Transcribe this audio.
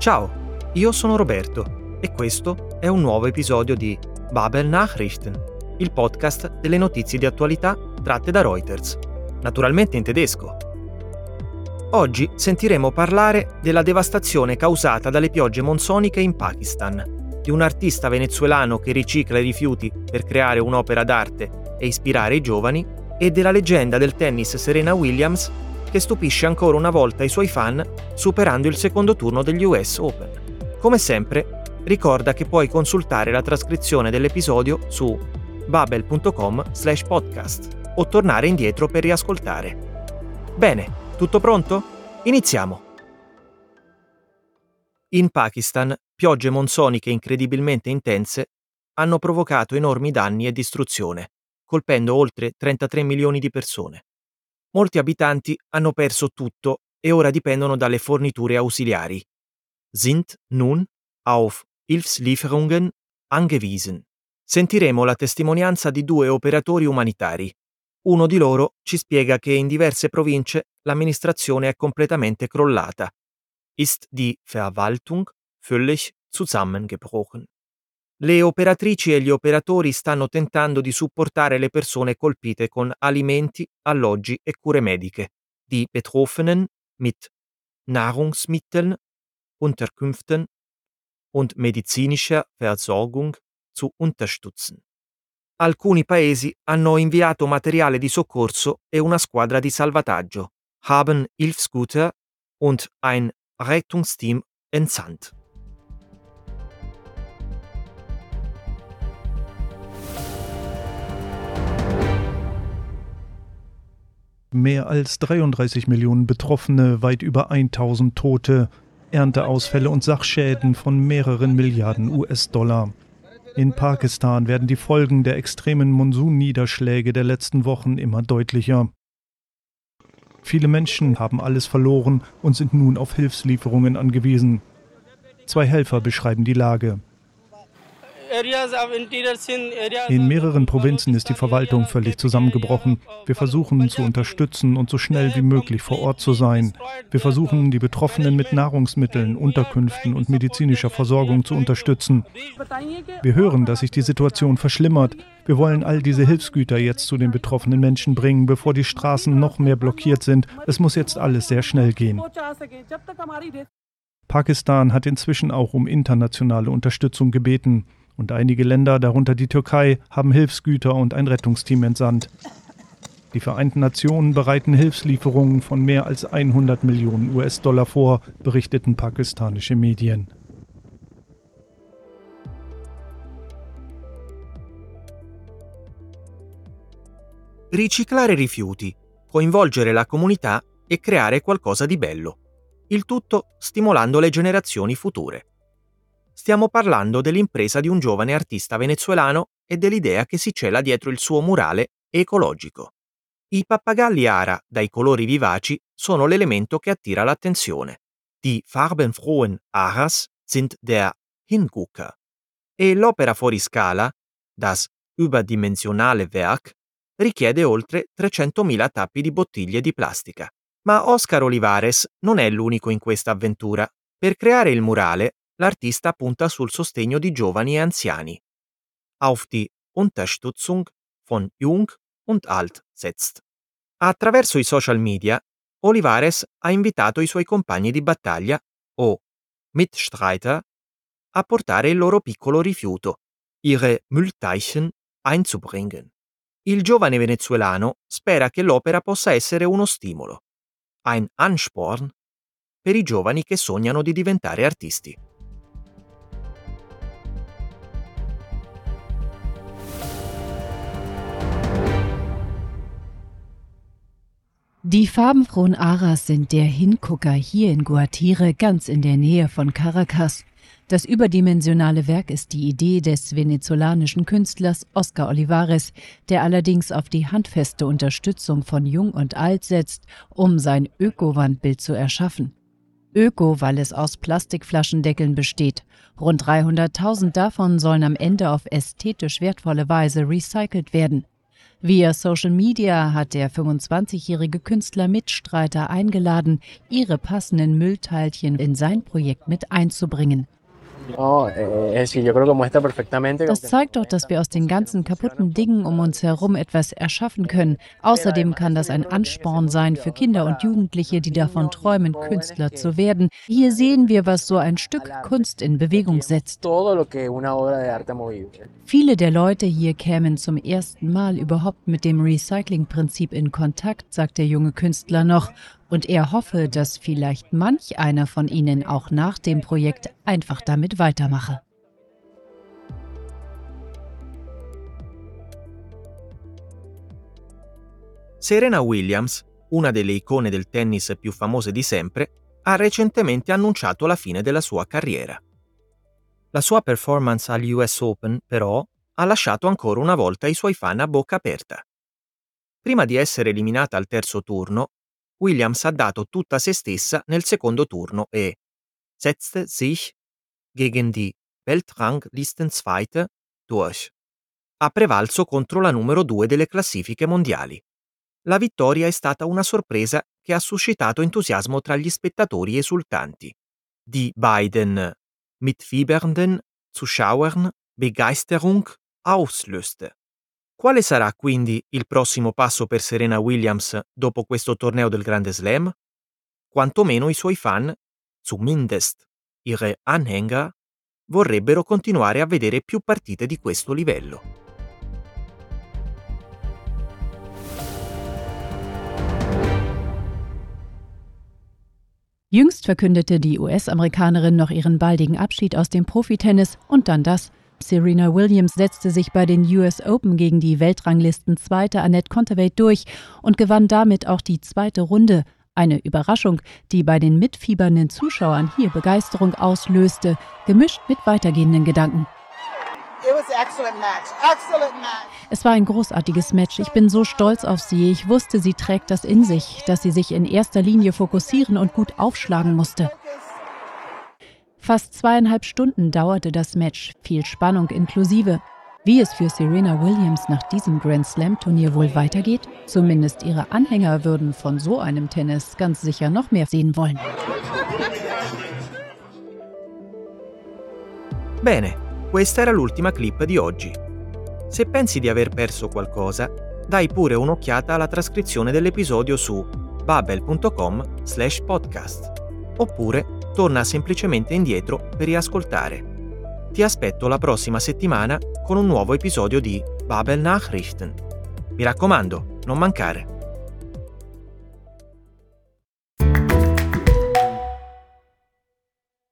Ciao, io sono Roberto e questo è un nuovo episodio di Babel Nachrichten, il podcast delle notizie di attualità tratte da Reuters, naturalmente in tedesco. Oggi sentiremo parlare della devastazione causata dalle piogge monsoniche in Pakistan, di un artista venezuelano che ricicla i rifiuti per creare un'opera d'arte e ispirare i giovani, e della leggenda del tennis Serena Williams che stupisce ancora una volta i suoi fan superando il secondo turno degli US Open. Come sempre, ricorda che puoi consultare la trascrizione dell'episodio su babel.com/podcast o tornare indietro per riascoltare. Bene, tutto pronto? Iniziamo! In Pakistan, piogge monsoniche incredibilmente intense hanno provocato enormi danni e distruzione, colpendo oltre 33 milioni di persone. Molti abitanti hanno perso tutto e ora dipendono dalle forniture ausiliari. Sind nun auf Hilfslieferungen angewiesen. Sentiremo la testimonianza di 2 operatori umanitari. Uno di loro ci spiega che in diverse province l'amministrazione è completamente crollata. Ist die Verwaltung völlig zusammengebrochen. Le operatrici e gli operatori stanno tentando di supportare le persone colpite con alimenti, alloggi e cure mediche. Die Betroffenen mit Nahrungsmitteln, Unterkünften und medizinischer Versorgung zu unterstützen. Alcuni paesi hanno inviato materiale di soccorso e una squadra di salvataggio, haben Hilfsgüter und ein Rettungsteam entsandt. Mehr als 33 Millionen Betroffene, weit über 1000 Tote, Ernteausfälle und Sachschäden von mehreren Milliarden US-Dollar. In Pakistan werden die Folgen der extremen Monsunniederschläge der letzten Wochen immer deutlicher. Viele Menschen haben alles verloren und sind nun auf Hilfslieferungen angewiesen. 2 Helfer beschreiben die Lage. In mehreren Provinzen ist die Verwaltung völlig zusammengebrochen. Wir versuchen zu unterstützen und so schnell wie möglich vor Ort zu sein. Wir versuchen, die Betroffenen mit Nahrungsmitteln, Unterkünften und medizinischer Versorgung zu unterstützen. Wir hören, dass sich die Situation verschlimmert. Wir wollen all diese Hilfsgüter jetzt zu den betroffenen Menschen bringen, bevor die Straßen noch mehr blockiert sind. Es muss jetzt alles sehr schnell gehen. Pakistan hat inzwischen auch um internationale Unterstützung gebeten. Und einige Länder, darunter die Türkei, haben Hilfsgüter und ein Rettungsteam entsandt. Die Vereinten Nationen bereiten Hilfslieferungen von mehr als 100 Millionen US-Dollar vor, berichteten pakistanische Medien. Riciclare rifiuti, coinvolgere la comunità e creare qualcosa di bello. Il tutto stimolando le generazioni future. Stiamo parlando dell'impresa di un giovane artista venezuelano e dell'idea che si cela dietro il suo murale ecologico. I pappagalli ara dai colori vivaci sono l'elemento che attira l'attenzione. Die farbenfrohen Aras sind der Hingucker. E l'opera fuori scala, das überdimensionale Werk, richiede oltre 300.000 tappi di bottiglie di plastica. Ma Oscar Olivares non è l'unico in questa avventura. Per creare il murale, l'artista punta sul sostegno di giovani e anziani. Auf die Unterstützung von Jung und Alt setzt. Attraverso i social media, Olivares ha invitato i suoi compagni di battaglia, o Mitstreiter, a portare il loro piccolo rifiuto, ihre Müllteichen einzubringen. Il giovane venezuelano spera che l'opera possa essere uno stimolo, ein Ansporn, per i giovani che sognano di diventare artisti. Die farbenfrohen Aras sind der Hingucker hier in Guatire, ganz in der Nähe von Caracas. Das überdimensionale Werk ist die Idee des venezolanischen Künstlers Oscar Olivares, der allerdings auf die handfeste Unterstützung von Jung und Alt setzt, um sein Öko-Wandbild zu erschaffen. Öko, weil es aus Plastikflaschendeckeln besteht. Rund 300.000 davon sollen am Ende auf ästhetisch wertvolle Weise recycelt werden. Via Social Media hat der 25-jährige Künstler Mitstreiter eingeladen, ihre passenden Müllteilchen in sein Projekt mit einzubringen. Das zeigt doch, dass wir aus den ganzen kaputten Dingen um uns herum etwas erschaffen können. Außerdem kann das ein Ansporn sein für Kinder und Jugendliche, die davon träumen, Künstler zu werden. Hier sehen wir, was so ein Stück Kunst in Bewegung setzt. Viele der Leute hier kämen zum ersten Mal überhaupt mit dem Recycling-Prinzip in Kontakt, sagt der junge Künstler noch. Und er hoffe, dass vielleicht manch einer von ihnen auch nach dem Projekt einfach damit weitermache. Serena Williams, una delle icone del tennis più famose di sempre, ha recentemente annunciato la fine della sua carriera. La sua performance agli US Open, però, ha lasciato ancora una volta i suoi fan a bocca aperta. Prima di essere eliminata al terzo turno, Williams ha dato tutta se stessa nel secondo turno e setzte sich gegen die Weltranglistenzweite durch. Ha prevalso contro la numero 2 delle classifiche mondiali. La vittoria è stata una sorpresa che ha suscitato entusiasmo tra gli spettatori esultanti. Die beiden mitfiebernden Zuschauern Begeisterung auslöste. Quale sarà quindi il prossimo passo per Serena Williams dopo questo torneo del Grande Slam? Quantomeno i suoi fan, zumindest ihre Anhänger, vorrebbero continuare a vedere più partite di questo livello. Jüngst verkündete die US-Amerikanerin noch ihren baldigen Abschied aus dem Profitennis und dann das. Serena Williams setzte sich bei den US Open gegen die Weltranglistenzweite Anett Kontaveit durch und gewann damit auch die zweite Runde. Eine Überraschung, die bei den mitfiebernden Zuschauern hier Begeisterung auslöste, gemischt mit weitergehenden Gedanken. Es war ein großartiges Match. Ich bin so stolz auf sie. Ich wusste, sie trägt das in sich, dass sie sich in erster Linie fokussieren und gut aufschlagen musste. Fast 2,5 Stunden dauerte das Match, viel Spannung inklusive. Wie es für Serena Williams nach diesem Grand Slam-Turnier wohl weitergeht? Zumindest ihre Anhänger würden von so einem Tennis ganz sicher noch mehr sehen wollen. Bene, questa era l'ultima clip di oggi. Se pensi di aver perso qualcosa, dai pure un'occhiata alla trascrizione dell'episodio su babel.com/podcast. Oppure torna semplicemente indietro per riascoltare. Ti aspetto la prossima settimana con un nuovo episodio di Babel Nachrichten. Mi raccomando, non mancare.